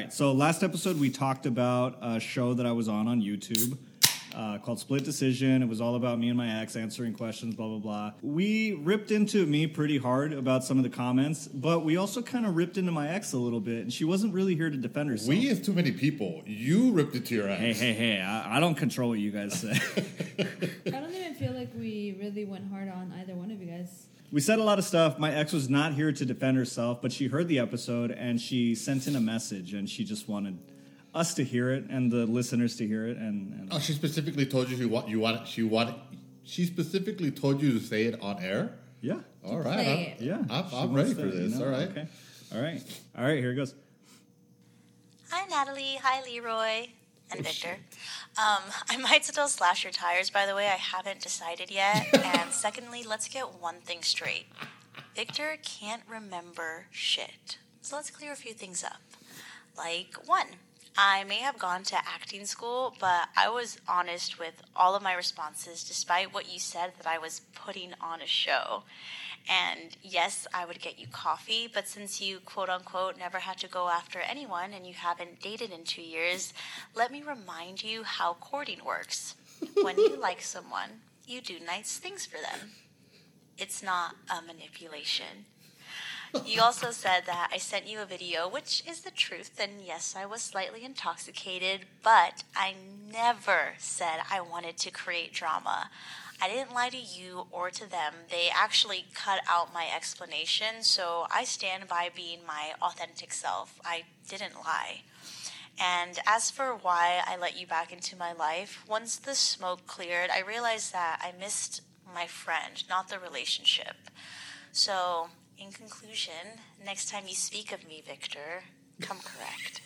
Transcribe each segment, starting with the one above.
right. So last episode we talked about a show that I was on YouTube called Split Decision. It was all about me and my ex answering questions, blah, blah, blah. We ripped into me pretty hard about some of the comments, but we also kind of ripped into my ex a little bit, and she wasn't really here to defend herself. We is too many people. You ripped it to your ex. Hey, I don't control what you guys say. I don't even feel like we really went hard on either one of you guys. We said a lot of stuff. My ex was not here to defend herself, but she heard the episode, and she sent in a message, and she just wanted us to hear it and the listeners to hear it. And she specifically told you she specifically told you to say it on air? Yeah. All right. I'm ready for this. All right. Okay. All right, here it goes. Hi, Natalie. Hi, Leroy. And Victor. I might still slash your tires, by the way. I haven't decided yet. And secondly, let's get one thing straight. Victor can't remember shit. So let's clear a few things up. Like, 1, I may have gone to acting school, but I was honest with all of my responses, despite what you said that I was putting on a show. And yes, I would get you coffee, but since you, quote-unquote, never had to go after anyone and you haven't dated in 2 years, let me remind you how courting works. When you like someone, you do nice things for them. It's not a manipulation. You also said that I sent you a video, which is the truth, and yes, I was slightly intoxicated, but I never said I wanted to create drama. I didn't lie to you or to them. They actually cut out my explanation, so I stand by being my authentic self. I didn't lie. And as for why I let you back into my life, once the smoke cleared, I realized that I missed my friend, not the relationship. So, in conclusion, next time you speak of me, Victor, come correct.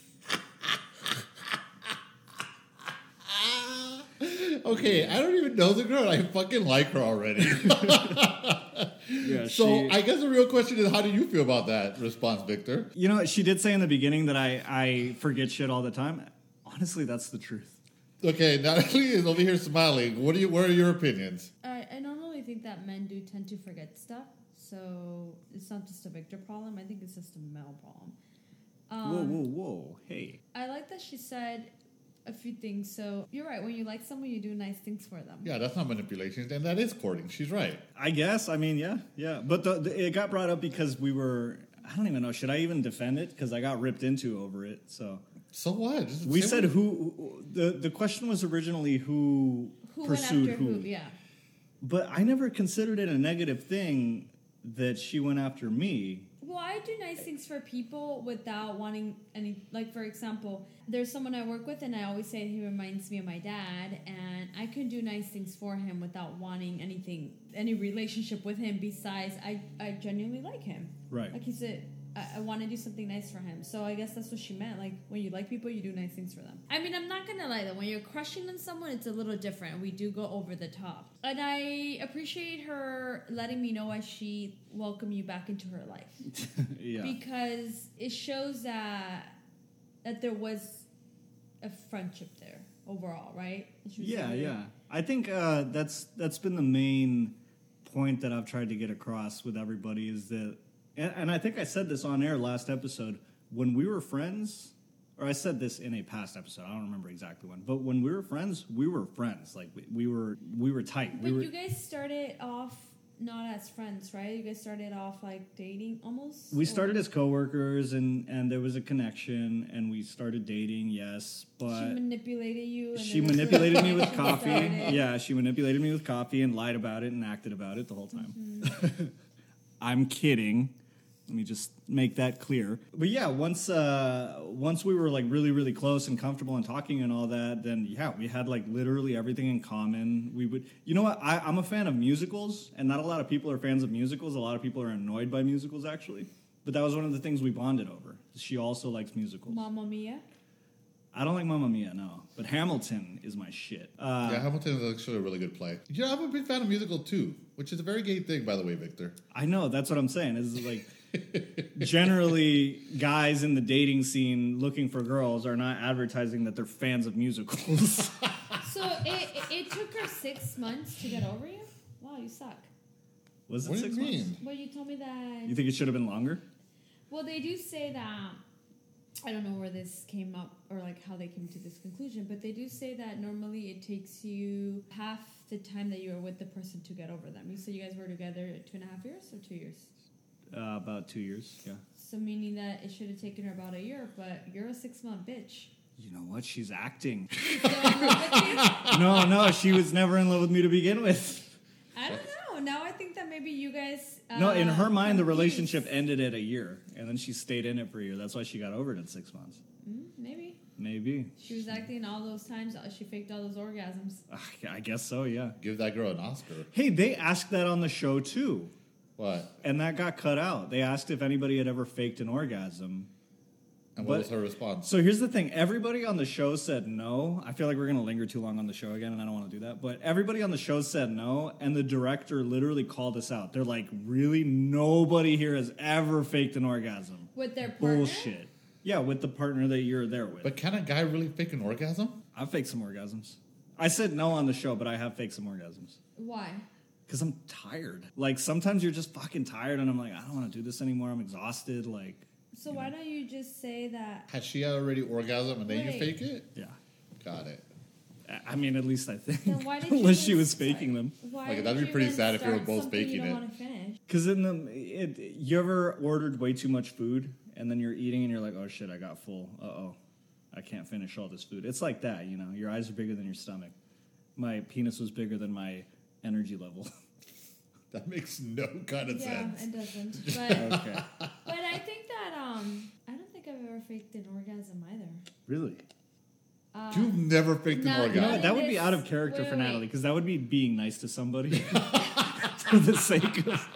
Okay, I don't even know the girl. I fucking like her already. So I guess the real question is, how do you feel about that response, Victor? You know, she did say in the beginning that I forget shit all the time. Honestly, that's the truth. Okay, Natalie is over here smiling. What are your opinions? I normally think that men do tend to forget stuff, so it's not just a Victor problem. I think it's just a male problem. Whoa, hey. I like that she said a few things. So you're right. When you like someone, you do nice things for them. Yeah, that's not manipulation, and that is courting. She's right. I guess. I mean, yeah. But it got brought up because we were. I don't even know. Should I even defend it? Because I got ripped into over it. So what? We said who. The question was originally who pursued went after who. Yeah. But I never considered it a negative thing that she went after me. Well, I do nice things for people without wanting any... Like, for example, there's someone I work with, and I always say he reminds me of my dad, and I can do nice things for him without wanting any relationship with him besides I genuinely like him. Right. Like, he said, I want to do something nice for him. So I guess that's what she meant. Like, when you like people, you do nice things for them. I mean, I'm not going to lie, though. When you're crushing on someone, it's a little different. We do go over the top. And I appreciate her letting me know as she welcomed you back into her life. Yeah. Because it shows that there was a friendship there overall, right? Yeah. I think that's been the main point that I've tried to get across with everybody is that, and I think I said this on air last episode, when we were friends, or I said this in a past episode, I don't remember exactly when, but when we were friends. Like we were tight. But you guys started off not as friends, right? You guys started off like dating almost? We started as coworkers and there was a connection and we started dating, yes, but she manipulated you. She manipulated me with coffee. Yeah, she manipulated me with coffee and lied about it and acted about it the whole time. Mm-hmm. I'm kidding. Let me just make that clear. But yeah, once we were like really, really close and comfortable and talking and all that, then yeah, we had like literally everything in common. We would, you know what? I'm a fan of musicals, and not a lot of people are fans of musicals. A lot of people are annoyed by musicals, actually. But that was one of the things we bonded over. She also likes musicals. Mamma Mia? I don't like Mamma Mia, no. But Hamilton is my shit. Yeah, Hamilton is actually a really good play. Yeah, I'm a big fan of musical too, which is a very gay thing, by the way, Victor. I know, that's what I'm saying. Is like generally guys in the dating scene looking for girls are not advertising that they're fans of musicals. So it took her 6 months to get over you? Wow, you suck. Was it what 6 do you months? mean? Well, you told me that... You think it should have been longer? Well, they do say that I don't know where this came up or like how they came to this conclusion, but they do say that normally it takes you half the time that you were with the person to get over them. You said you guys were together 2.5 years or 2 years? About 2 years, yeah. So meaning that it should have taken her about a year, but you're a 6-month bitch. You know what? She's acting. Still in love with you? No, she was never in love with me to begin with. I don't know. Now I think that maybe you guys. No, in her mind, the confused. relationship ended at a year, and then she stayed in it for a year. That's why she got over it in 6 months. Maybe. Maybe. She was acting all those times. She faked all those orgasms. I guess so, yeah. Give that girl an Oscar. Hey, they asked that on the show, too. What? And that got cut out. They asked if anybody had ever faked an orgasm. And what But- was her response? So here's the thing. Everybody on the show said no. I feel like we're going to linger too long on the show again, and I don't want to do that. But everybody on the show said no, and the director literally called us out. They're like, really? Nobody here has ever faked an orgasm. With their partner? Bullshit. Yeah, with the partner that you're there with. But can a guy really fake an orgasm? I've faked some orgasms. I said no on the show, but I have faked some orgasms. Why? Because I'm tired. Like, sometimes you're just fucking tired, and I'm like, I don't want to do this anymore. I'm exhausted. Like, So why don't you just say that? Had she already orgasm and then you Wait. fake it? yeah. Got it. I mean, at least I think. Then why did you Unless she even was start- faking them. Why Like, did that'd be you pretty even sad if you were start both something faking you don't it. want to finish? Because you ever ordered way too much food, and then you're eating, and you're like, oh shit, I got full. Uh-oh. I can't finish all this food. It's like that, you know. Your eyes are bigger than your stomach. My penis was bigger than my energy level. That makes no kind of Yeah, sense. it doesn't. But Okay. but I think that I don't think I've ever faked an orgasm either. Really? You've never faked no, an You know orgasm. what? That would be this- out of character wait, for wait, Natalie, wait. because that would be being nice to somebody for the sake of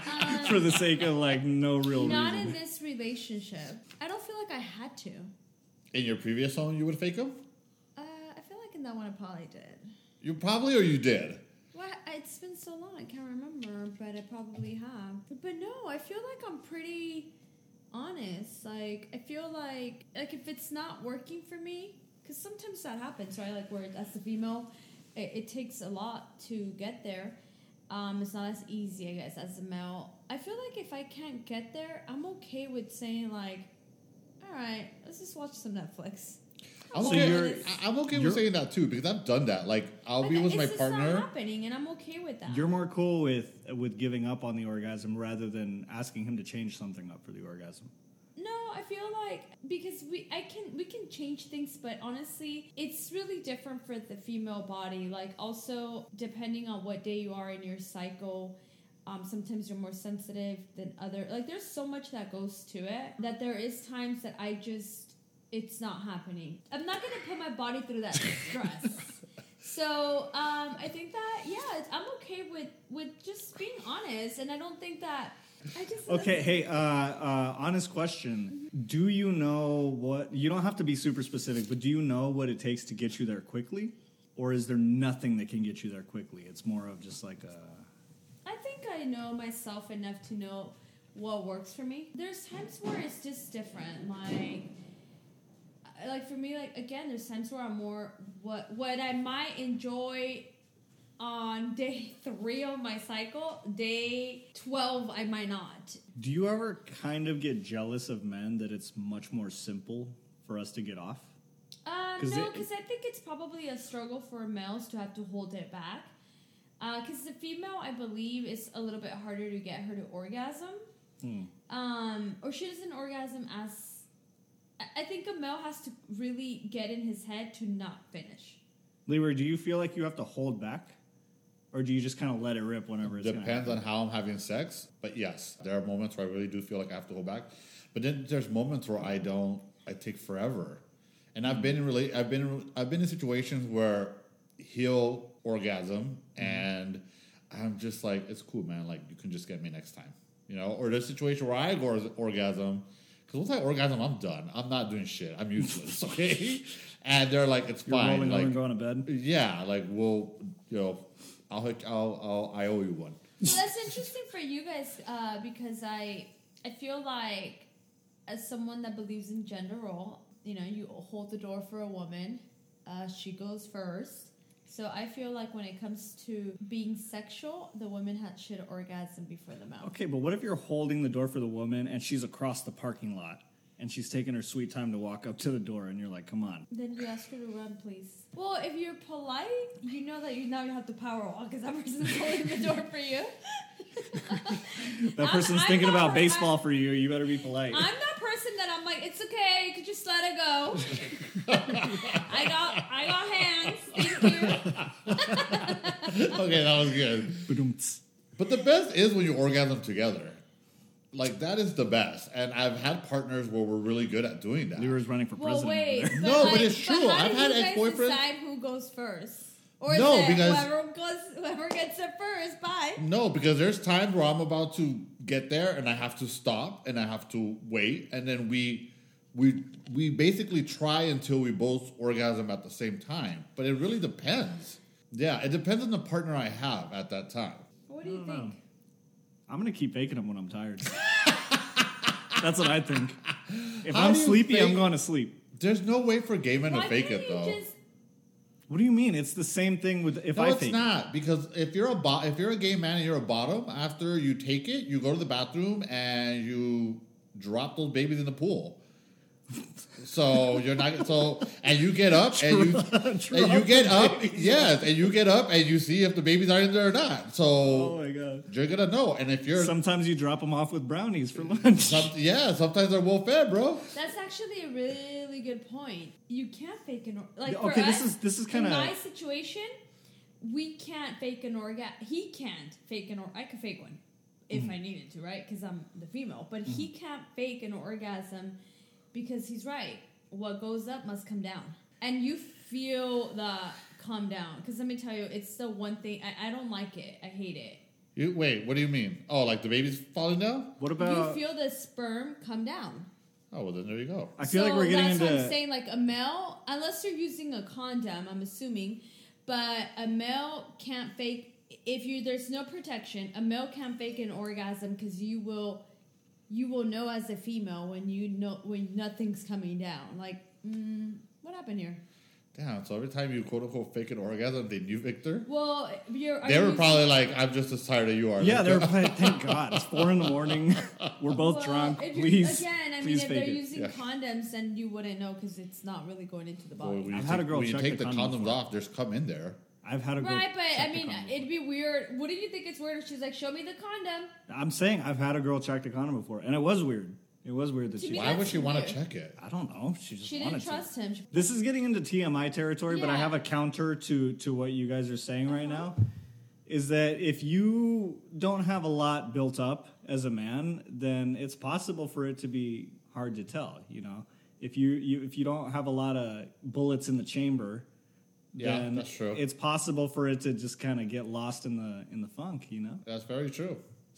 like no real Not reason. in this relationship. I don't feel like I had to. In your previous home, you would fake them? I feel like in that one I probably did. You probably or you did? Well, it's been so long I can't remember, but I probably have. But no, I feel like I'm pretty honest. Like I feel like if it's not working for me, because sometimes that happens, right? Like where as a female, it takes a lot to get there. It's not as easy, I guess, as a male. I feel like if I can't get there, I'm okay with saying like, all right, let's just watch some Netflix. I'm So okay, you're- I'm okay you're- with saying that too because I've done that. Like, I'll be with my It's partner. not happening, and I'm okay with that. You're more cool with giving up on the orgasm rather than asking him to change something up for the orgasm. No, I feel like because we can change things, but honestly, it's really different for the female body. Like also depending on what day you are in your cycle, sometimes you're more sensitive than other. Like there's so much that goes to it that there is times that it's not happening. I'm not gonna put my body through that stress. So I think that I'm okay with just being honest, and I don't think that. Okay, hey, honest question. Do you know what, you don't have to be super specific, but do you know what it takes to get you there quickly? Or is there nothing that can get you there quickly? It's more of just like I think I know myself enough to know what works for me. There's times where it's just different. Like for me, like again, there's times where I'm more what I might enjoy on day 3 of my cycle, day 12 I might not. Do you ever kind of get jealous of men that it's much more simple for us to get off? No, because I think it's probably a struggle for males to have to hold it back. Because the female, I believe, is a little bit harder to get her to orgasm. Or she doesn't orgasm as... I think a male has to really get in his head to not finish. Leroy, do you feel like you have to hold back? Or do you just kind of let it rip whenever it's going to Depends happen? on how I'm having sex. But yes, there are moments where I really do feel like I have to hold back. But then there's moments where I don't. I take forever. And I've been in situations where he'll orgasm and I'm just like, it's cool, man. Like you can just get me next time, you know. Or there's a situation where I orgasm because once I orgasm, I'm done. I'm not doing shit. I'm useless. Okay. And they're like, it's You're fine. rolling over Like and going to bed? yeah, like we'll I owe you one. So that's interesting for you guys because I feel like as someone that believes in gender role, you know, you hold the door for a woman. She goes first. So I feel like when it comes to being sexual, the woman should orgasm before the male. Okay, but what if you're holding the door for the woman and she's across the parking lot and she's taking her sweet time to walk up to the door, and you're like, come on. Then you ask her to run, please. Well, if you're polite, you know that you now have to power walk because that person's holding the door for you. That person's thinking about baseball for you. You better be polite. I'm that person that I'm like, it's okay, you could just let it go. I got hands. Thank you. Okay, that was good. Ba-dum-ts. But the best is when you orgasm together. Like, that is the best. And I've had partners where we're really good at doing that. Leroy's running for Well, president. wait. over there. No, but it's true. How I've do had you guys ex-boyfriends- decide who goes first? Or No, is it because- whoever gets it first, bye. No, because there's times where I'm about to get there and I have to stop and I have to wait. And then we basically try until we both orgasm at the same time. But it really depends. Yeah, it depends on the partner I have at that time. What do you think? I'm going to keep faking them when I'm tired. That's what I think. If How I'm do you sleepy, I'm fake- going to sleep. There's no way for gay men Why to fake can't it, you though. just... What do you mean? It's the same thing with if No, I it's fake not, because if you're a gay man and you're a bottom, after you take it, you go to the bathroom and you drop those babies in the pool. So you're not and you get up and you get up, yes, and you get up and you see if the babies are in there or not. Oh So my god. you're gonna know. And if you're Sometimes you drop them off with brownies for lunch. sometimes they're well fed, bro. That's actually a really good point. You can't fake an like Okay, for this us, is kinda- in my situation. We can't fake an orgasm. He can't fake an I could fake one if I needed to, right? Because I'm the female. But he can't fake an orgasm because he's right. What goes up must come down, and you feel the calm down. Because let me tell you, it's the one thing I don't like it. I hate it. Wait, what do you mean? Oh, like the baby's falling down? What about? You feel the sperm come down. Oh, well then there you go. I feel like we're getting that's into. what I'm saying. Like a male, unless you're using a condom, I'm assuming, but a male can't fake. There's no protection, a male can't fake an orgasm because you will know as a female when nothing's coming down. Like, what happened here? Damn, so every time you quote unquote fake an orgasm, they knew Victor? Well, They were probably like, I'm just as tired as you are. Yeah, Let's they were go. playing. Thank God, it's 4 a.m. We're both drunk. if you- Please, Again, I mean, please if fake they're it. using Yeah. condoms, then you wouldn't know because it's not really going into the body. Well, when you I've had a take- girl when you check take the the condom condoms before. off, there's cum in there. I've had a girl. Right, but I check the mean, condom it'd be weird. Wouldn't you think it's weird if she's like, "Show me the condom"? I'm saying I've had a girl check the condom before, and it was weird. It was weird that To she. me, Why would that's she want weird. to check it? I don't know. She just She wanted didn't trust to. him. This is getting into TMI territory, but I Yeah. have a counter to what you guys are saying right now. Is that if you don't have a lot built up as a man, then it's possible for it to be hard to tell. You know, if you don't have a lot of bullets in the chamber, Yeah, then that's true. it's possible for it to just kind of get lost in the funk. You know, That's very true.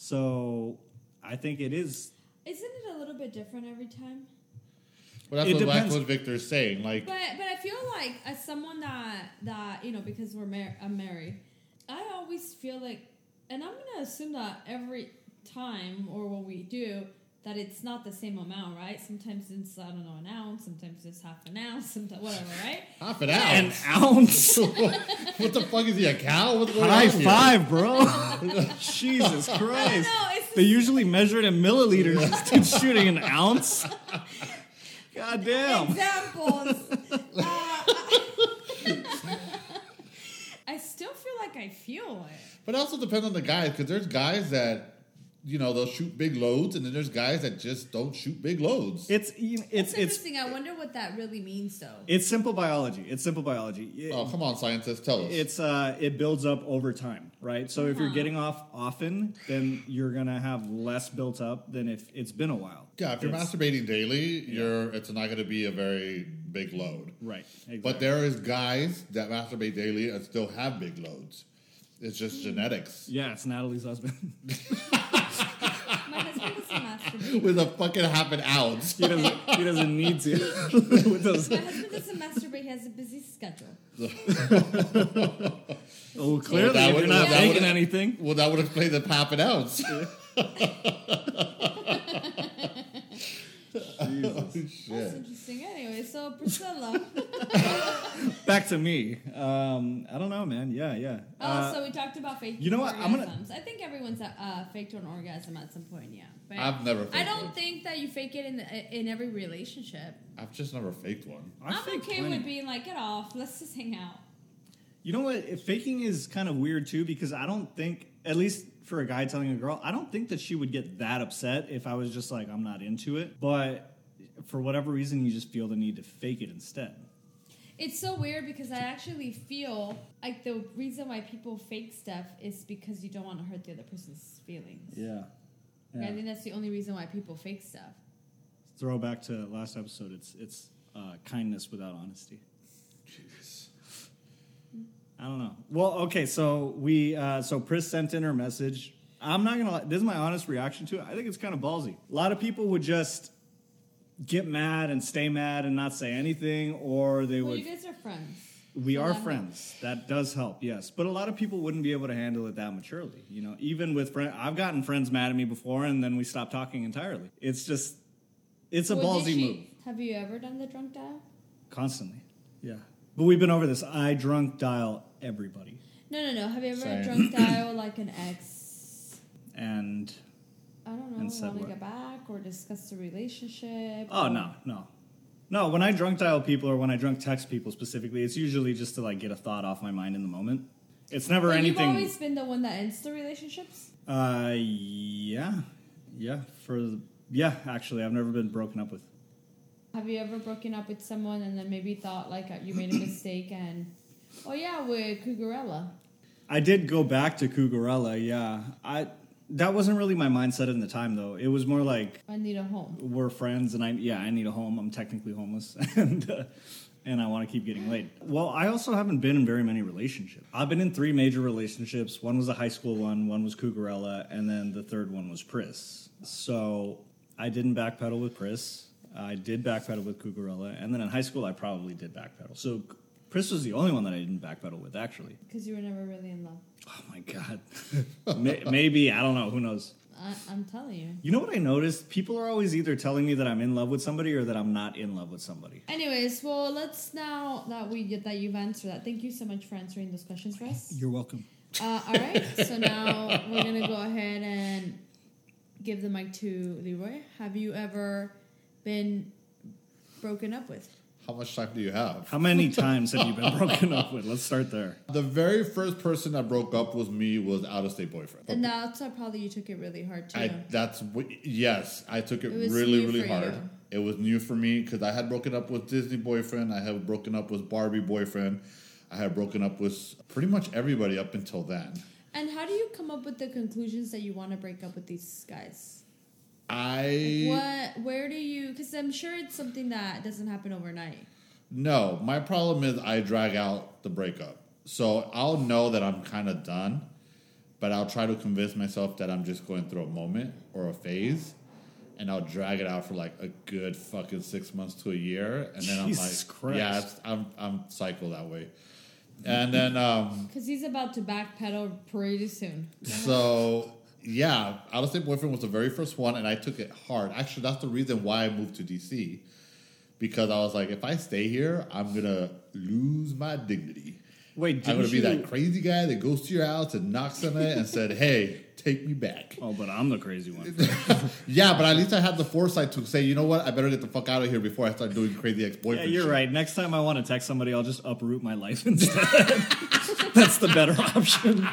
so I think it is. Isn't it a little bit different every time? But It that's depends. what Victor's saying. Like, But I feel like as someone that because I'm married, I always feel like, and I'm gonna assume that every time or when we do that it's not the same amount, right? Sometimes it's an ounce, sometimes it's half an ounce, sometimes whatever, right? half an An ounce. ounce. What the fuck is he, a cow? What's going High on here? five, bro. Jesus Christ. No, it's They usually measure it in milliliters. This dude's shooting an ounce. God damn. examples. I still feel like I feel it. But it also depends on the guys, because there's guys that, they'll shoot big loads, and then there's guys that just don't shoot big loads. It's It's interesting. I wonder what that really means, though. it's simple biology. It's simple biology. Oh, come on, scientists, tell us. It builds up over time, right? So if you're getting off often, then you're gonna have less built up than if it's been a while. Yeah, if you're It's- masturbating daily, it's not going to be a very big load. right. Exactly. But there is guys that masturbate daily and still have big loads. It's just genetics. yeah, it's Natalie's husband. My husband doesn't masturbate. With a fucking half an ounce. he doesn't need to. With those, My husband doesn't masturbate. He has a busy schedule. oh, clearly, that if would- you're not that would- making anything. Well, that would explain the half an ounce. That's Shit. interesting. Anyway, so Priscilla. Back to me. I don't know, man. Yeah. So we talked about faking you know what? I'm gonna- orgasms. I think everyone's faked an orgasm at some point, yeah. But I've never faked I don't one. think that you fake it in every relationship. I've just never faked one. I'm faked okay plenty. with being like, get off. Let's just hang out. You know what? Faking is kind of weird too, because I don't think, at least for a guy telling a girl, I don't think that she would get that upset if I was just like, I'm not into it. But for whatever reason, you just feel the need to fake it instead. It's so weird because I actually feel like the reason why people fake stuff is because you don't want to hurt the other person's feelings. Yeah. Like, I think that's the only reason why people fake stuff. Throwback to last episode, it's kindness without honesty. Jeez. I don't know. Well, okay, so so Pris sent in her message. I'm not gonna lie, this is my honest reaction to it. I think it's kind of ballsy. A lot of people would just get mad and stay mad and not say anything, or they Well, would. you guys are friends. We so are that friends. That does help, yes. But a lot of people wouldn't be able to handle it that maturely. You know, even with friends, I've gotten friends mad at me before, and then we stopped talking entirely. It's just, it's a Well, did ballsy she- move. Have you ever done the drunk dial? Constantly, yeah. But we've been over this. I drunk dial everybody, No. Have you ever Same. drunk dial like an ex? and I don't know. And said Want to what? get back or discuss the relationship? oh or- no. When I drunk dial people or when I drunk text people specifically, it's usually just to like get a thought off my mind in the moment. It's never But anything. You've always been the one that ends the relationships. Yeah. Actually, I've never been broken up with. Have you ever broken up with someone and then maybe thought like you made a mistake and oh yeah, with Cougarella? I did go back to Cougarella, yeah. That wasn't really my mindset in the time, though. It was more like I need a home. we're friends, and I need a home. I'm technically homeless, and I want to keep getting laid. Well, I also haven't been in very many relationships. I've been in 3 major relationships. One was a high school one was Cougarella, and then the third one was Pris. So I didn't backpedal with Pris. I did backpedal with Cougarella, and then in high school I probably did backpedal. So Pris was the only one that I didn't backpedal with, actually. Because you were never really in love. Oh my god. Maybe, I don't know, who knows. I'm telling you. You know what I noticed? People are always either telling me that I'm in love with somebody or that I'm not in love with somebody. Anyways, well, let's now that you've answered that. Thank you so much for answering those questions for us. You're welcome. All right, so now we're gonna go ahead and give the mic to Leroy. Have you ever been broken up with? How much time do you have? How many times have you been broken up with? Let's start there. The very first person that broke up with me was out-of-state boyfriend. And that's probably you took it really hard too. Yes, I took it It was really, new really for hard. you. It was new for me because I had broken up with Disney boyfriend. I had broken up with Barbie boyfriend. I had broken up with pretty much everybody up until then. And how do you come up with the conclusions that you want to break up with these guys? Where do you? Because I'm sure it's something that doesn't happen overnight. No, my problem is I drag out the breakup. So I'll know that I'm kind of done, but I'll try to convince myself that I'm just going through a moment or a phase, and I'll drag it out for like a good fucking 6 months to a year, and then Jesus I'm like, Christ. I'm psycho that way. And then Because he's about to backpedal pretty soon. so yeah, out-of-state boyfriend was the very first one, and I took it hard. Actually, that's the reason why I moved to DC, because I was like, if I stay here, I'm gonna lose my dignity. Wait, I'm didn't gonna be you... that crazy guy that goes to your house and knocks on it and said, "Hey, take me back." Oh, but I'm the crazy one. Yeah, but at least I had the foresight to say, you know what, I better get the fuck out of here before I start doing crazy Yeah, ex-boyfriend. you're shit. right. Next time I want to text somebody, I'll just uproot my life instead. That's the better option.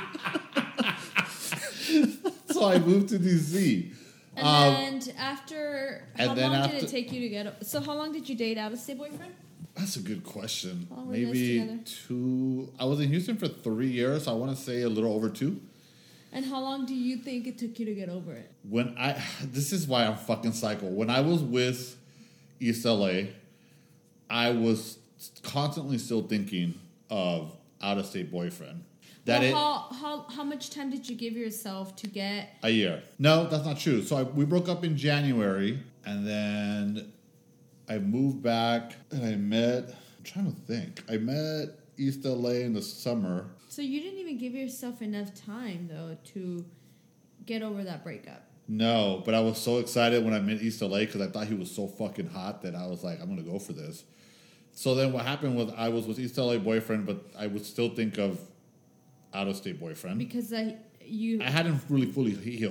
So I moved to DC. And after, how and then long did after- it take you to get? So how long did you date out of state boyfriend? That's a good question. How long were you guys Maybe together? 2. I was in Houston for 3 years, so I want to say a little over 2. And how long do you think it took you to get over it? This is why I'm fucking psycho. When I was with East LA, I was constantly still thinking of out-of-state boyfriend. How much time did you give yourself to get? A year. No, that's not true. So we broke up in January, and then I moved back, and I'm trying to think. I met East LA in the summer. So you didn't even give yourself enough time though to get over that breakup. No, but I was so excited when I met East LA because I thought he was so fucking hot that I was like, I'm going to go for this. So then what happened was I was with East LA boyfriend, but I would still think of out-of-state boyfriend. Because you I hadn't really fully healed.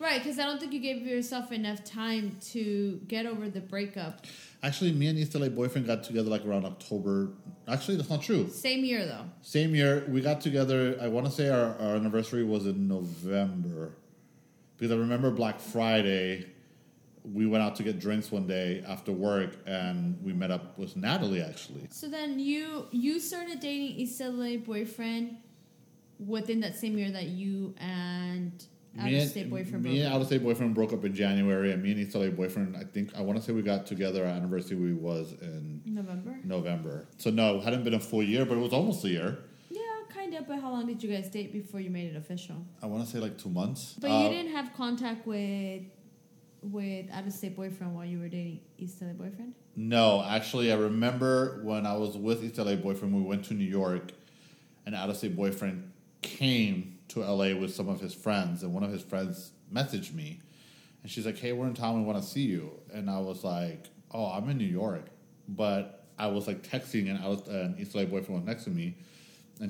Right, because I don't think you gave yourself enough time to get over the breakup. Actually, me and East LA Boyfriend got together like around October. Actually, that's not true. Same year, though. Same year, we got together. I want to say our anniversary was in November. Because I remember Black Friday, we went out to get drinks one day after work, and we met up with Natalie, actually. So then you started dating East LA Boyfriend within that same year that you and Out-of-State Boyfriend broke Me and up. Out-of-State Boyfriend broke up in January, and me and East LA Boyfriend, I want to say we got together, our anniversary was in November. So no, it hadn't been a full year, but it was almost a year. Yeah, kind of, but how long did you guys date before you made it official? I want to say like 2 months. But you didn't have contact with Out-of-State Boyfriend while you were dating East LA Boyfriend? No, actually, I remember when I was with East LA Boyfriend, we went to New York, and Out-of-State Boyfriend came to LA with some of his friends, and one of his friends messaged me, and she's like, "Hey, we're in town, we want to see you." And I was like, "Oh, I'm in New York," but I was like texting, and East LA Boyfriend was next to me, and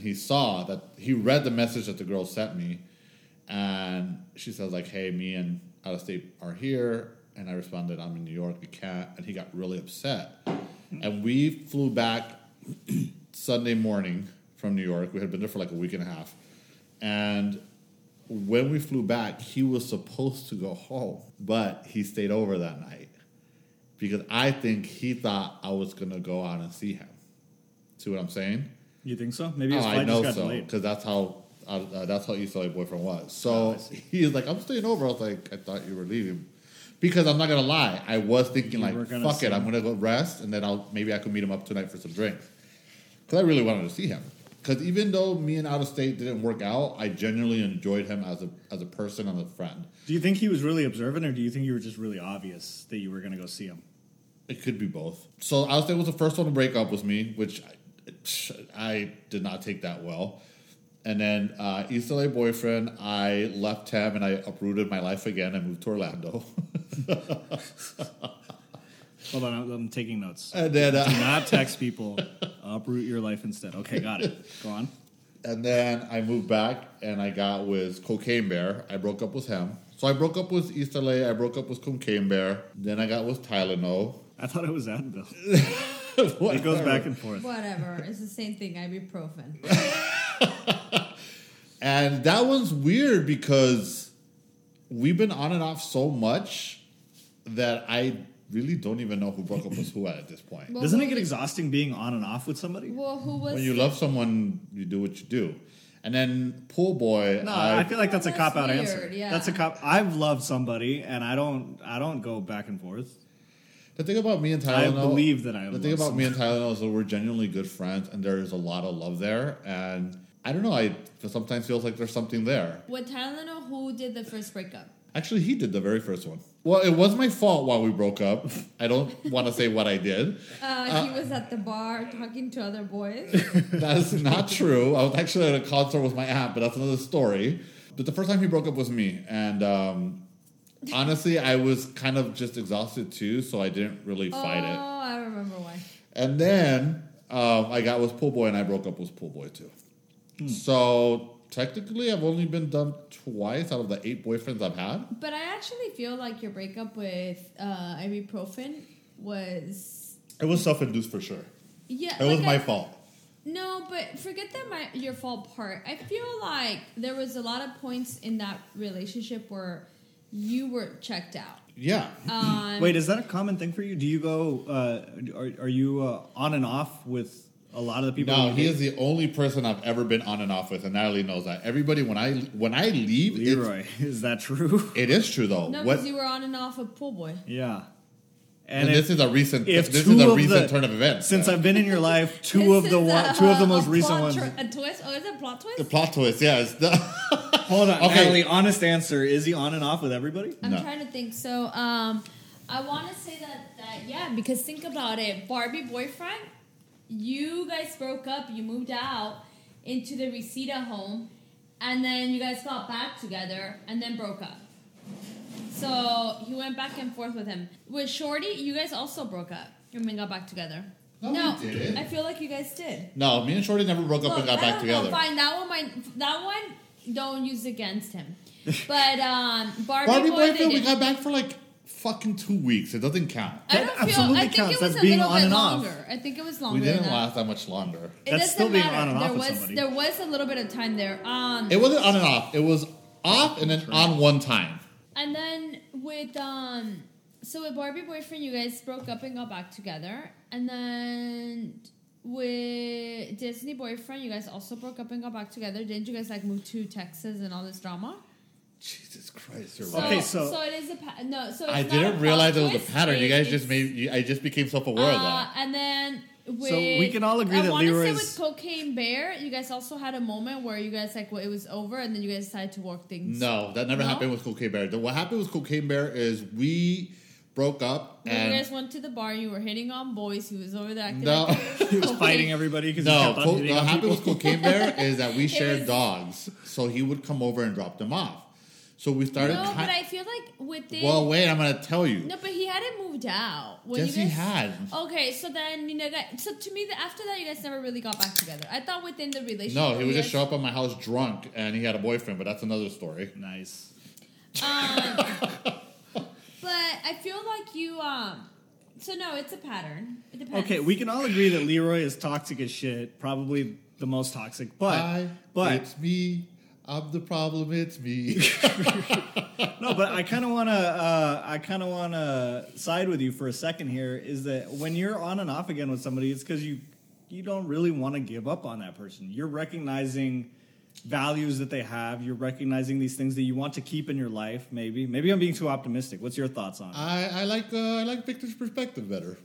he read the message that the girl sent me, and she says like, "Hey, me and Out-of-State are here," and I responded, "I'm in New York, we can't," and he got really upset, and we flew back Sunday morning from New York. We had been there for like a week and a half. And when we flew back, he was supposed to go home, but he stayed over that night because I think he thought I was going to go out and see him. See what I'm saying? You think so? Maybe his I flight know just got so, delayed. because that's how East LA Boyfriend was. So he was like, "I'm staying over." I was like, "I thought you were leaving." Because I'm not going to lie, I was thinking You like, were gonna fuck see it, I'm him. going to go rest, and then maybe I could meet him up tonight for some drinks. Because I really wanted to see him. Because even though me and Out-of-State didn't work out, I genuinely enjoyed him as a person and a friend. Do you think he was really observant, or do you think you were just really obvious that you were going to go see him? It could be both. So Out-of-State was the first one to break up with me, which I did not take that well. And then East LA Boyfriend, I left him and I uprooted my life again. I moved to Orlando. Hold on, I'm taking notes. And then, Do not text people. Uproot your life instead. Okay, got it. Go on. And then I moved back and I got with Cocaine Bear. I broke up with him. So I broke up with East LA. I broke up with Cocaine Bear. Then I got with Tylenol. I thought it was Advil. It goes back and forth. Whatever. It's the same thing. Ibuprofen. And that one's weird because we've been on and off so much that I really don't even know who broke up with who at this point. Well, Doesn't it who- get exhausting being on and off with somebody? Well, who was... When you love someone, you do what you do. And then Pool Boy, No, I feel like that's a That's cop out weird, answer. yeah. That's a cop. I've loved somebody, and I don't go back and forth. the thing about me and I Tylenol, believe that I the thing love about me and Tylenol is that we're genuinely good friends, and there is a lot of love there. And I don't know, I sometimes feels like there's something there. With Tylenol, who did the first breakup? Actually, he did the very first one. Well, it was my fault while we broke up. I don't want to say what I did. He was at the bar talking to other boys. That is not true. I was actually at a concert with my aunt, but that's another story. But the first time he broke up was me. And honestly, I was kind of just exhausted too, so I didn't really fight it. Oh, I remember why. And then I got with Pool Boy, and I broke up with Pool Boy too. So technically, I've only been dumped twice out of the 8 boyfriends I've had. But I actually feel like your breakup with ibuprofen was... It was self-induced for sure. Yeah, It was like my fault. No, but forget your fault part. I feel like there was a lot of points in that relationship where you were checked out. Yeah. Wait, is that a common thing for you? Do you go? Are you on and off with a lot of the people? No, you he date? is the only person I've ever been on and off with, and Natalie knows that. Everybody, when I leave, Leroy. Is that true? it is true though. No, What? because you were on and off with Pool Boy. Yeah. And if- this is a recent. if This two is a of recent the- turn of events. Since though. I've been in your life, two This of the is most a recent plot ones. A twist? Oh, is it a plot twist? the plot twist, yeah. It's the Hold on, Okay. Natalie. Honest answer: is he on and off with everybody? I'm No. trying to think. So, I want to say that yeah, because think about it. Barbie boyfriend, you guys broke up. You moved out into the Reseda home, and then you guys got back together, and then broke up. So he went back and forth with him. With Shorty, you guys also broke up and then got back together. No, we didn't. I feel like you guys did. No, me and Shorty never broke up and got I back don't know. together. Fine, that one don't use against him. But Barbie Boy, Boyfriend, we got back for like fucking 2 weeks. It doesn't count. I don't feel. absolutely I think counts. it was That's a being little on bit and off. longer. I think it was longer. We didn't than that. last that much longer. It That's doesn't still being matter. on and off there with was somebody. there was a little bit of time there. It wasn't on and off. It was off and then on one time. And then with so with Barbie Boyfriend, you guys broke up and got back together. And then with Disney Boyfriend, you guys also broke up and got back together. Didn't you guys like move to Texas and all this drama? Jesus Christ, you're So, right. Okay, so- it is a no. So it's I not didn't a realize it plot was a twist, pattern. You guys it's- just made. I just became self-aware of that. And then with, So we can all agree I that wanna say Leroy's- with Cocaine Bear, you guys also had a moment where you guys like it was over, and then you guys decided to work things. No, that never No? happened with Cocaine Bear. What happened with Cocaine Bear is we broke up When and you guys went to the bar, you were hitting on boys. He was over there acting No. like He was fighting everybody because he no. kept on hitting What on happened people. with Cocaine Bear is that we shared was- dogs, so he would come over and drop them off. So we started. No, but I feel like within. Well, wait, I'm gonna tell you. No, but he hadn't moved out. When Yes, you he guys, had. Okay, so then so to me, after that, you guys never really got back together. I thought within the relationship. No, he would you just guys- show up at my house drunk, and he had a boyfriend, but that's another story. Nice. But I feel like you. So no, it's a pattern. It depends. Okay, we can all agree that Leroy is toxic as shit. Probably the most toxic. But It's me. I'm the problem. It's me. no, but I kind of wanna side with you for a second here. Is that when you're on and off again with somebody, it's because you don't really want to give up on that person. You're recognizing values that they have. You're recognizing these things that you want to keep in your life. Maybe I'm being too optimistic. What's your thoughts on it? I like Victor's perspective better.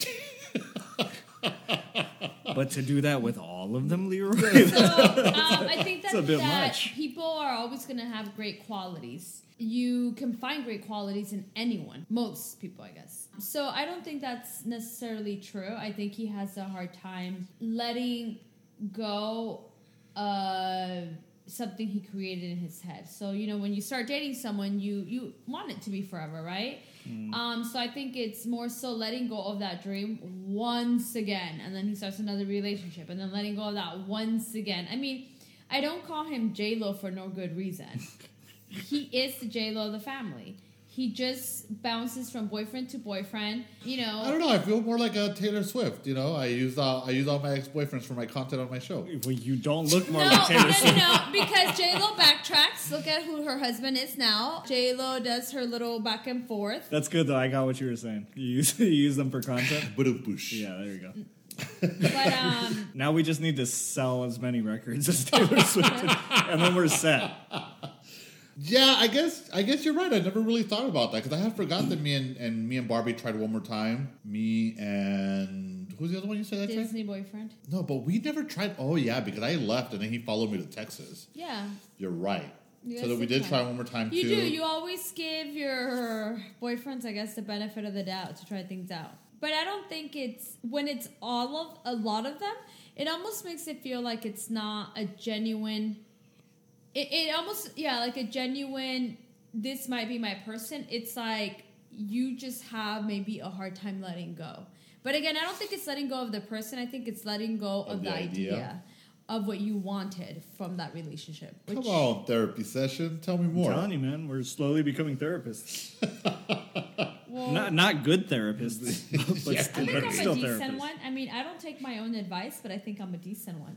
But to do that with all of them, Leroy. So I think It's a bit that much. people are always going to have great qualities. You can find great qualities in anyone. Most people, I guess. So I don't think that's necessarily true. I think he has a hard time letting go of something he created in his head. So, when you start dating someone, you want it to be forever, right? So I think it's more so letting go of that dream once again, and then he starts another relationship, and then letting go of that once again. I mean, I don't call him J-Lo for no good reason. He is the J-Lo of the family. He just bounces from boyfriend to boyfriend, I don't know. I feel more like a Taylor Swift. I use all my ex-boyfriends for my content on my show. Well, you don't look more No, like Taylor Swift. no, because J-Lo backtracks. Look at who her husband is now. J-Lo does her little back and forth. That's good though. I got what you were saying. You use them for content. Ba-dum-boosh. Yeah, there you go. But Now we just need to sell as many records as Taylor Swift, and then we're set. Yeah, I guess you're right. I never really thought about that because I had forgot that me and Barbie tried one more time. Me and who's the other one you said? Disney boyfriend. No, but we never tried. Oh yeah, because I left and then he followed me to Texas. Yeah. You're right. You So guys that we did did try. try one more time You too. do. You always give your boyfriends, I guess, the benefit of the doubt to try things out. But I don't think it's when it's a lot of them. It almost makes it feel like it's not a genuine. It almost like a genuine. This might be my person. It's like you just have maybe a hard time letting go. But again, I don't think it's letting go of the person. I think it's letting go of the idea of what you wanted from that relationship. Come on, therapy session. Tell me more. I'm telling you, man, we're slowly becoming therapists. Well, Not good therapists, but, I think but I'm still a decent therapists. one. I mean, I don't take my own advice, but I think I'm a decent one.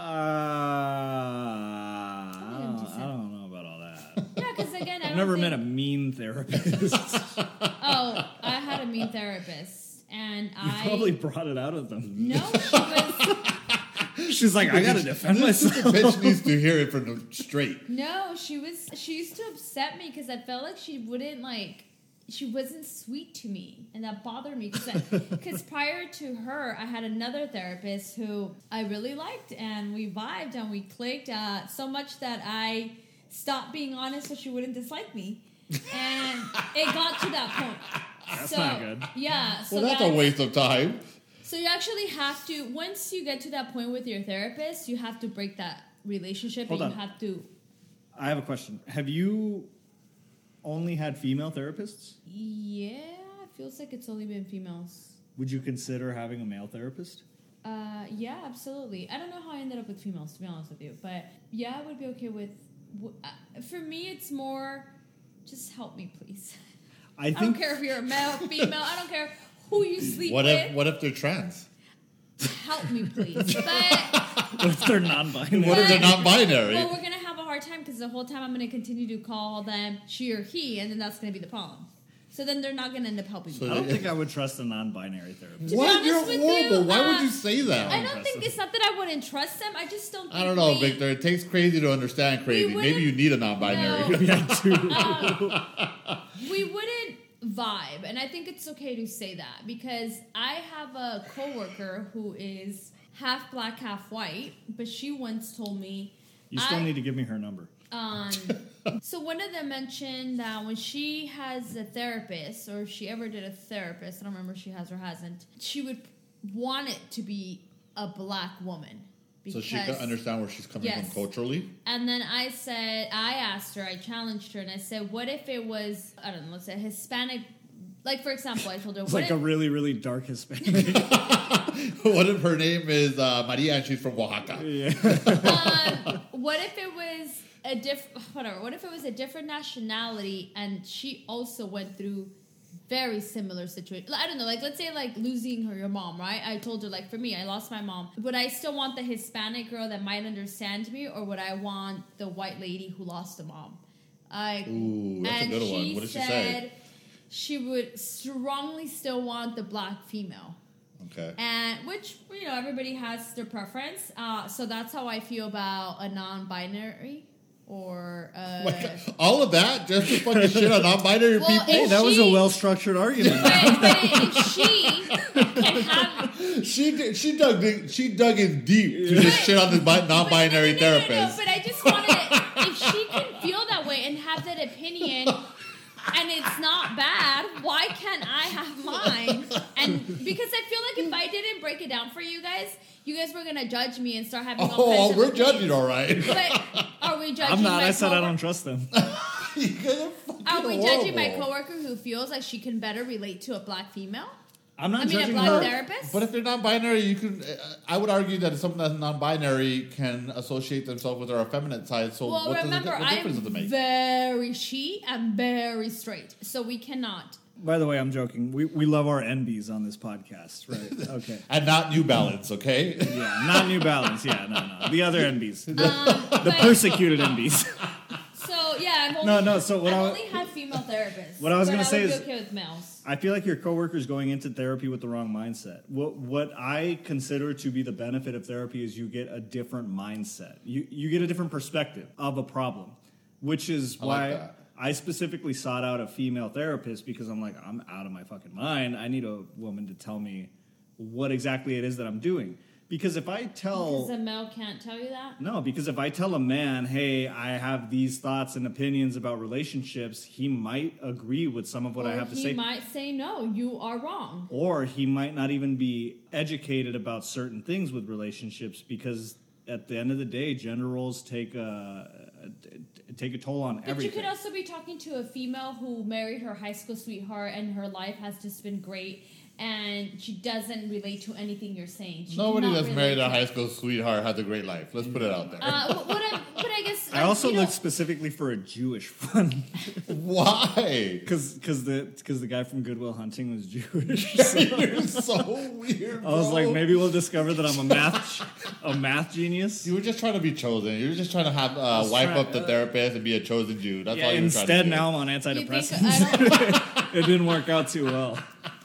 I don't know about all that. Yeah, because again, I I've don't never think, met a mean therapist. Oh, I had a mean therapist, and You I probably brought it out of them. no, she was She's like, I gotta defend The myself. bitch needs to hear it from the straight. no, she used to upset me because I felt like she wasn't sweet to me, and that bothered me because prior to her, I had another therapist who I really liked, and we vibed and we clicked so much that I stopped being honest so she wouldn't dislike me, and it got to that point. That's not good. Yeah. So Well, that's a waste of time. So you actually have to, once you get to that point with your therapist, you have to break that relationship, Hold and on. you have to. I have a question. Have you only had female therapists? Yeah, it feels like it's only been females. Would you consider having a male therapist? Yeah, absolutely. I don't know how I ended up with females, to be honest with you, but yeah, I would be okay with For me, it's more, just help me, please. I I don't think care if you're a male, female. I don't care who you sleep What with. if they're trans? Help me, please. But what if they're non-binary? What if they're non-binary? well, we're gonna have a hard time because the whole time I'm gonna continue to call them she or he, and then that's gonna be the problem. So then they're not gonna end up helping me. I don't think I would trust a non-binary therapist. To be What? honest You're with horrible. you, Why would you say that? I don't think it's not that I wouldn't trust them. I just don't. Think I don't know, we- Victor. It takes crazy to understand crazy. wouldn't- Maybe you need a non-binary. No. Yeah, too. We wouldn't vibe, and I think it's okay to say that because I have a coworker who is half black, half white, but she once told me. You still need to give me her number. So one of them mentioned that when she has a therapist, or if she ever did a therapist, I don't remember if she has or hasn't, she would want it to be a black woman. So she can understand where she's coming from culturally. And then I asked her, I challenged her, and I said, what if it was, I don't know, let's say Hispanic, like for example, I told her, It's what like if, a really, really dark Hispanic. What if her name is Maria and she's from Oaxaca? what if it was what if it was a different nationality and she also went through very similar situation? I don't know, like let's say like losing your mom, right? I told her like for me, I lost my mom. Would I still want the Hispanic girl that might understand me, or would I want the white lady who lost a mom? Ooh, that's a good one. What did she say? She would strongly still want the black female. Okay. And which, everybody has their preference. So that's how I feel about a non-binary or All of that just to fucking shit on non-binary Well, people? Hey, that was a well-structured argument. but if she can have She dug in deep to just shit on this non-binary No, therapist. but I just wanted, if she can feel that way and have that opinion and it's not bad, why can't I have mine? And because I feel like if I didn't break it down for you guys were gonna judge me and start having all kinds of we're opinions. judging, all right. But are we judging I'm not. my I said I coworker- don't trust them. You guys are fucking Are we judging my horrible. coworker who feels like she can better relate to a black female? I'm not I mean, a judging black her. therapist? But if they're non-binary, you can. I would argue that someone that's non-binary can associate themselves with their effeminate side. So Well, what remember, what difference I'm does it make? very and very straight, so we cannot. By the way, I'm joking. We love our NBs on this podcast, right? Okay. And not New Balance, okay? Yeah, not New Balance. Yeah, no. The other NBs. The But- persecuted NBs. So yeah, So what I've I- only had female therapists. What I was but gonna say would is- be okay with males. I feel like your coworker's going into therapy with the wrong mindset. What I consider to be the benefit of therapy is you get a different mindset. You get a different perspective of a problem, which is I like why that. I specifically sought out a female therapist, because I'm like, I'm out of my fucking mind. I need a woman to tell me what exactly it is that I'm doing. Because if I tell... Because a male can't tell you that? No, because if I tell a man, hey, I have these thoughts and opinions about relationships, he might agree with some of what I have to say. He might say, no, you are wrong. Or he might not even be educated about certain things with relationships, because at the end of the day, gender roles take a toll on But everything. you could also be talking to a female who married her high school sweetheart and her life has just been great and she doesn't relate to anything you're saying. She Nobody cannot that's married relate a to- high school sweetheart has a great life. Let's put it out there. But I guess I also you know, looked specifically for a Jewish one, Why? because the guy from Good Will Hunting was Jewish. So You're so weird. I was bro. like, maybe we'll discover that I'm a math genius. You were just trying to be chosen. You were just trying to have wipe trying- up the therapist and be a chosen Jew. That's Yeah, all you were trying to instead do. now I'm on you think antidepressants. It didn't work out too well.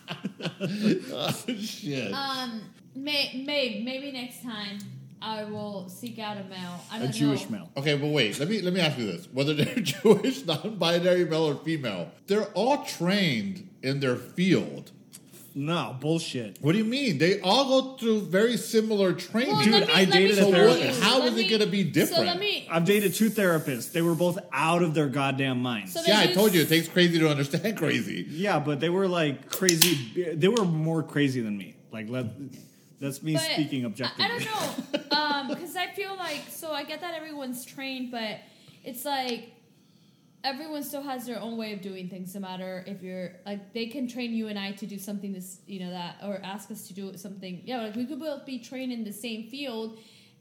Shit. maybe next time I will seek out a male. I don't A Jewish know. male. Okay, but wait. Let me ask you this: whether they're Jewish, non-binary, male or female, they're all trained in their field. No, bullshit. What do you mean? They all go through very similar training. Well, Dude, let me- I let me dated a show therapist. you. How Let is it me- gonna be different? So let me. I've dated two therapists. They were both out of their goddamn minds. So Yeah, I they told you use- it takes crazy to understand crazy. Yeah, but they were like crazy. They were more crazy than me. Like, that's me But speaking objectively. I don't know, because I feel like, so I get that everyone's trained, but it's like everyone still has their own way of doing things. No matter if you're like, they can train you and I to do something this, that, or ask us to do something. Yeah, like we could both be trained in the same field,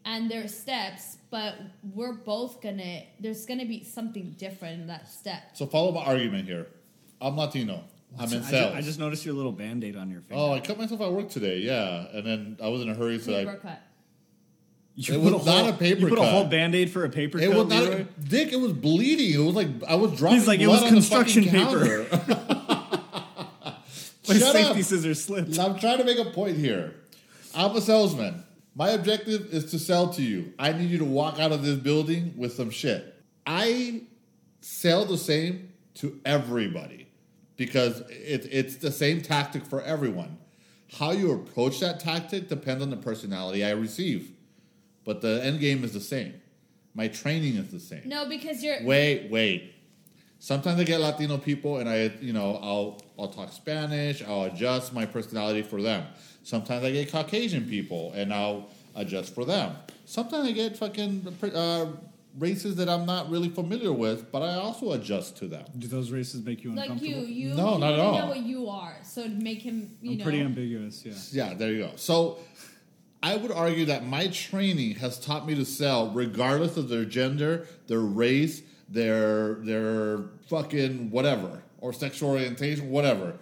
and there's steps, but we're both there's gonna be something different in that step. So follow my argument here. I'm Latino. I'm in sales. I just noticed your little Band-Aid on your finger. Oh, I cut myself at work today, yeah. And then I was in a hurry, so Paper cut. You It put was a not whole- a paper You put cut. a whole Band-Aid for a paper it cut, was not Leroy? Dick, it was bleeding. It was like I was dropping He's like, it blood was on the fucking construction paper. counter. My Shut safety up. scissors slipped. I'm trying to make a point here. I'm a salesman. My objective is to sell to you. I need you to walk out of this building with some shit. I sell the same to everybody because it's the same tactic for everyone. How you approach that tactic depends on the personality I receive. But the end game is the same. My training is the same. No, because you're. Wait. Sometimes I get Latino people, and I'll talk Spanish. I'll adjust my personality for them. Sometimes I get Caucasian people, and I'll adjust for them. Sometimes I get fucking races that I'm not really familiar with, but I also adjust to them. Do those races make you Like uncomfortable? you No, not at all. know what you are, so to make him, I'm pretty ambiguous, yeah. Yeah, there you go. So I would argue that my training has taught me to sell regardless of their gender, their race, their fucking whatever, or sexual orientation, whatever.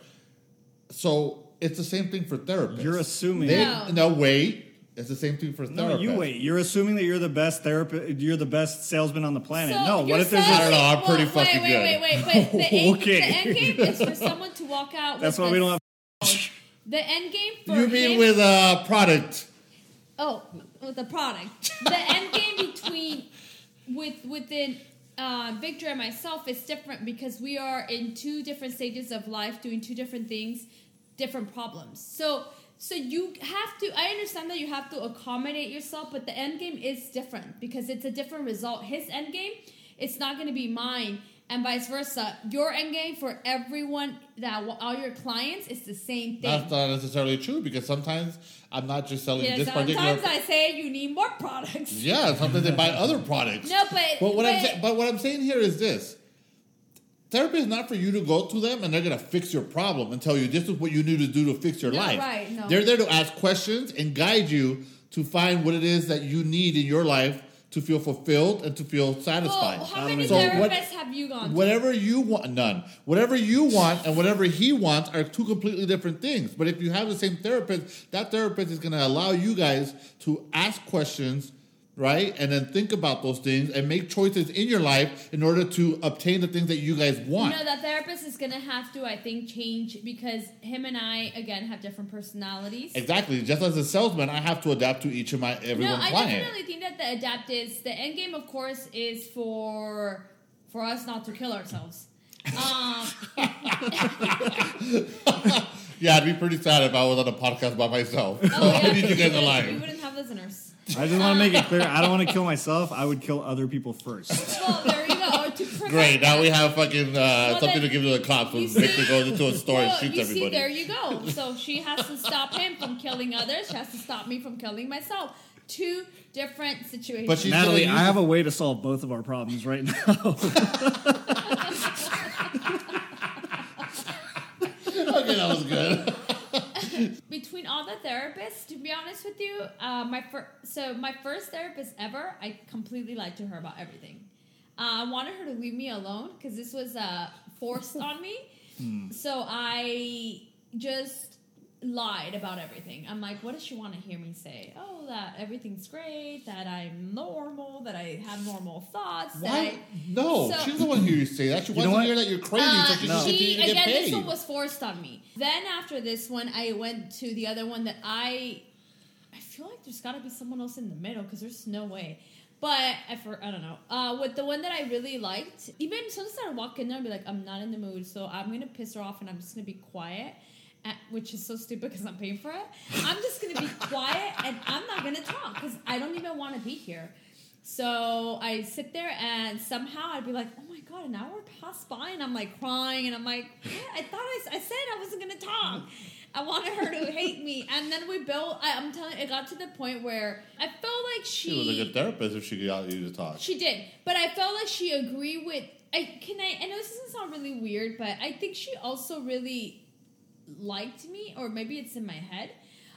So it's the same thing for therapists. You're assuming. No. Wait. It's the same thing for therapists. No, you wait. You're assuming that you're the best therapist. You're the best salesman on the planet. So no, what you're if there's I don't a... know, I'm pretty fucking wait. good. The end game is for someone to walk out. That's with why we don't have... The end game for You mean him, with a product? Oh, with the product. The end game within Victor and myself is different because we are in two different stages of life, doing two different things, different problems. So you have to. I understand that you have to accommodate yourself, but the end game is different because it's a different result. His end game, it's not going to be mine, and vice versa. Your end game for everyone all your clients is the same thing. That's not necessarily true because sometimes I'm not just selling Yeah, this particular. sometimes I say you need more products. Yeah, sometimes they buy other products. No, But what I'm saying here is this: therapy is not for you to go to them and they're gonna fix your problem and tell you this is what you need to do to fix your No, life. right, no. They're there to ask questions and guide you to find what it is that you need in your life to feel fulfilled and to feel satisfied. Well, how many So therapists have you gone to? Whatever you want, none. Whatever you want and whatever he wants are two completely different things. But if you have the same therapist, that therapist is going to allow you guys to ask questions, right? And then think about those things and make choices in your life in order to obtain the things that you guys want. No, that therapist is going to have to, I think, change because him and I, again, have different personalities. Exactly. Just as a salesman, I have to adapt to each of my everyone's No, I client. definitely think that the adapt is the end game. Of course, is for us not to kill ourselves. Yeah, I'd be pretty sad if I was on a podcast by myself. So Oh, yeah, I need you guys we alive. wouldn't have listeners. I just want to make it clear. I don't want to kill myself. I would kill other people first. Well, there you go. Or to prevent Great. Now that. we have fucking something then- to give to the cops when You Victor see- goes into a store and Well, shoots you everybody. see, there you go. So she has to stop him from killing others. She has to stop me from killing myself. Two different situations. But she's Natalie, gonna I use- have a way to solve both of our problems right now. Okay, that was good. Between all the therapists, to be honest with you, my first therapist ever, I completely lied to her about everything. I wanted her to leave me alone because this was forced on me. So I just lied about everything. I'm like, what does she want to hear me say? Oh, that everything's great, that I'm normal, that I have normal thoughts. Why? No, So- she doesn't want to hear you say that. She wants know to what? hear that you're crazy so she can continue to get again, paid. this one was forced on me. Then after this one, I went to the other one that I feel like there's got to be someone else in the middle because there's no way. But I don't know. With the one that I really liked, even sometimes I walk in there and be like, I'm not in the mood, so I'm gonna piss her off and I'm just gonna be quiet. Which is so stupid because I'm paying for it. I'm just gonna be quiet and I'm not gonna talk because I don't even want to be here. So I sit there and somehow I'd be like, oh my god, an hour passed by and I'm like crying and I'm like, what? I thought I said I wasn't gonna talk. I wanted her to hate me, and then we built. I'm telling you, it got to the point where I felt like She was a good therapist if she got you to talk. She did, but I felt like she agreed with. I know this doesn't sound really weird, but I think she also really liked me, or maybe it's in my head.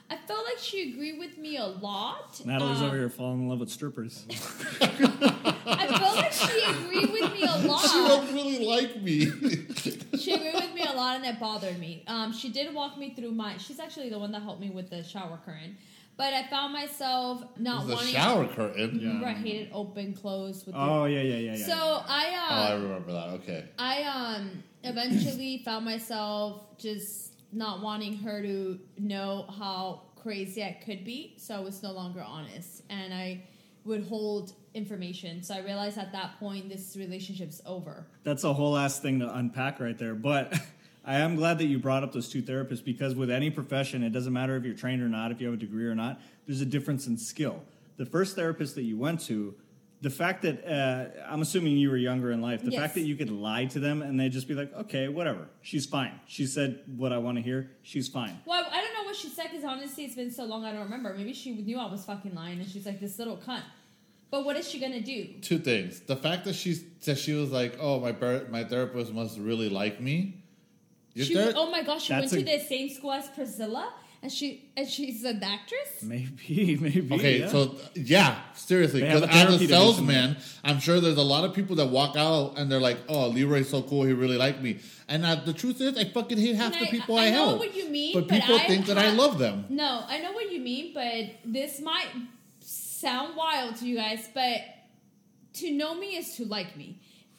I felt like she agreed with me a lot. Natalie's over here falling in love with strippers. I felt like she agreed with me a lot. She don't really like me. She agreed with me a lot, and it bothered me. She did walk me through she's actually the one that helped me with the shower curtain. But I found myself not The wanting... shower curtain. Remember, I hated open, closed. With Yeah. So I remember that. Okay. I eventually found myself just not wanting her to know how crazy I could be, so I was no longer honest, and I would hold information. So I realized at that point this relationship's over. That's a whole ass thing to unpack right there, but I am glad that you brought up those two therapists, because with any profession, it doesn't matter if you're trained or not, if you have a degree or not, there's a difference in skill. The first therapist that you went to, the fact that, I'm assuming you were younger in life, the Yes. fact that you could lie to them and they'd just be like, okay, whatever, she's fine. She said what I want to hear, she's fine. Well, I don't know what she said, because honestly it's been so long I don't remember. Maybe she knew I was fucking lying, and she's like, this little cunt. But what is she gonna do? Two things. The fact that she was like, oh, my therapist must really like me. Oh my gosh, she went That's to the same school as Priscilla? And she's an actress? Maybe. Okay, yeah. so yeah, seriously, They have because a as therapy a salesman, I'm sure there's a lot of people that walk out and they're like, "Oh, Leroy's so cool, he really liked me." And the truth is, I fucking hate half the people I help. I know what you mean, but people I think that I love them. No, I know what you mean, but this might sound wild to you guys, but to know me is to like me.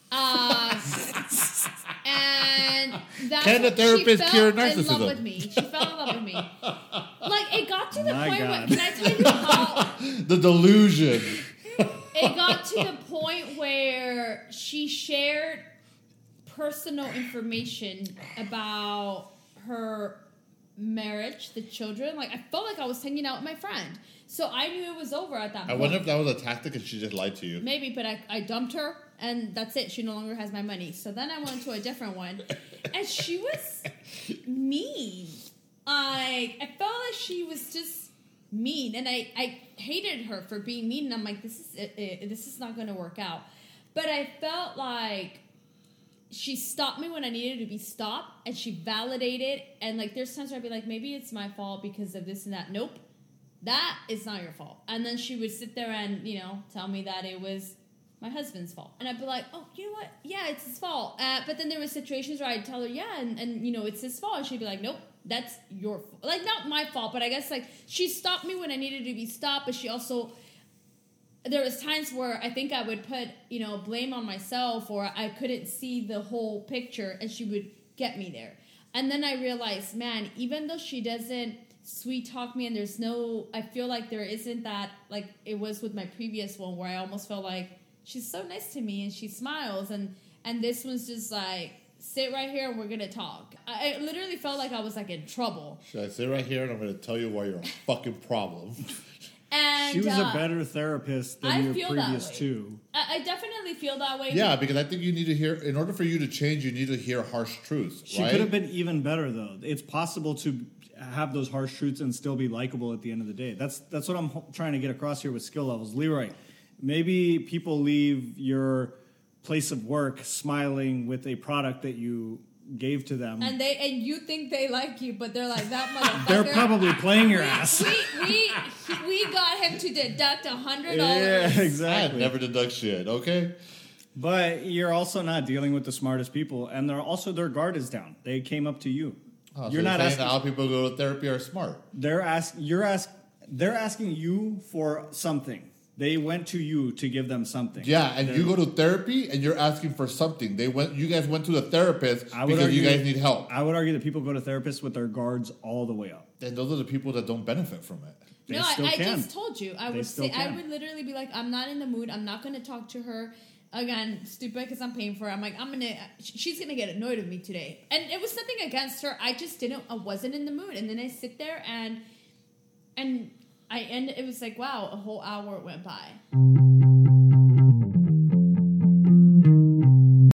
And that's Can a what therapist she cure fell in love narcissism? with me. She fell in love with me. Like, it got to the My point where, God. can I tell you how The delusion. it got to the point where she shared personal information about her marriage, the children. Like, I felt like I was hanging out with my friend. So I knew it was over at that I point. wonder if that was a tactic and she just lied to you. Maybe, but I dumped her, and that's it. She no longer has my money. So then I went to a different one, and she was mean. I felt like she was just mean, and I hated her for being mean. And I'm like, this is not going to work out. But I felt like she stopped me when I needed to be stopped, and she validated. And like, there's times where I'd be like, maybe it's my fault because of this and that. Nope. That is not your fault. And then she would sit there and, tell me that it was my husband's fault. And I'd be like, oh, you know what? Yeah, it's his fault. But then there were situations where I'd tell her, yeah, and it's his fault. And she'd be like, nope, that's your fault. Like, not my fault, but I guess, like, she stopped me when I needed to be stopped, but she also... There was times where I think I would put, blame on myself, or I couldn't see the whole picture, and she would get me there. And then I realized, man, even though she doesn't sweet talk me, and I feel like there isn't that, like it was with my previous one, where I almost felt like she's so nice to me and she smiles, and this one's just like, sit right here and we're gonna talk. I literally felt like I was like in trouble. Should I sit right here and I'm going to tell you why you're a fucking problem? And She was a better therapist than your previous two. I definitely feel that way. Yeah, because I think you need to hear, in order for you to change, you need to hear harsh truths, She right? could have been even better, though. It's possible to have those harsh truths and still be likable at the end of the day. That's what I'm trying to get across here with skill levels. Leroy, maybe people leave your place of work smiling with a product that you gave to them. And you think they like you, but they're like, that motherfucker. They're probably playing your ass. We got him to deduct $100. Yeah, I exactly. never deduct shit, okay? But you're also not dealing with the smartest people, and their guard is down. They came up to you. Oh, You're so not saying asking. that all people who go to therapy are smart. They're asking you for something. They went to you to give them something. Yeah, and you go to therapy and you're asking for something. You guys went to the therapist because you guys need help. I would argue that people go to therapists with their guards all the way up. And those are the people that don't benefit from it. They No, still I can. just told you. I They would still say I can. would literally be like, I'm not in the mood. I'm not going to talk to her again. Stupid because I'm paying for it. I'm like, she's gonna get annoyed with me today. And it was nothing against her. I wasn't in the mood. And then I sit there and it was like, wow, a whole hour went by.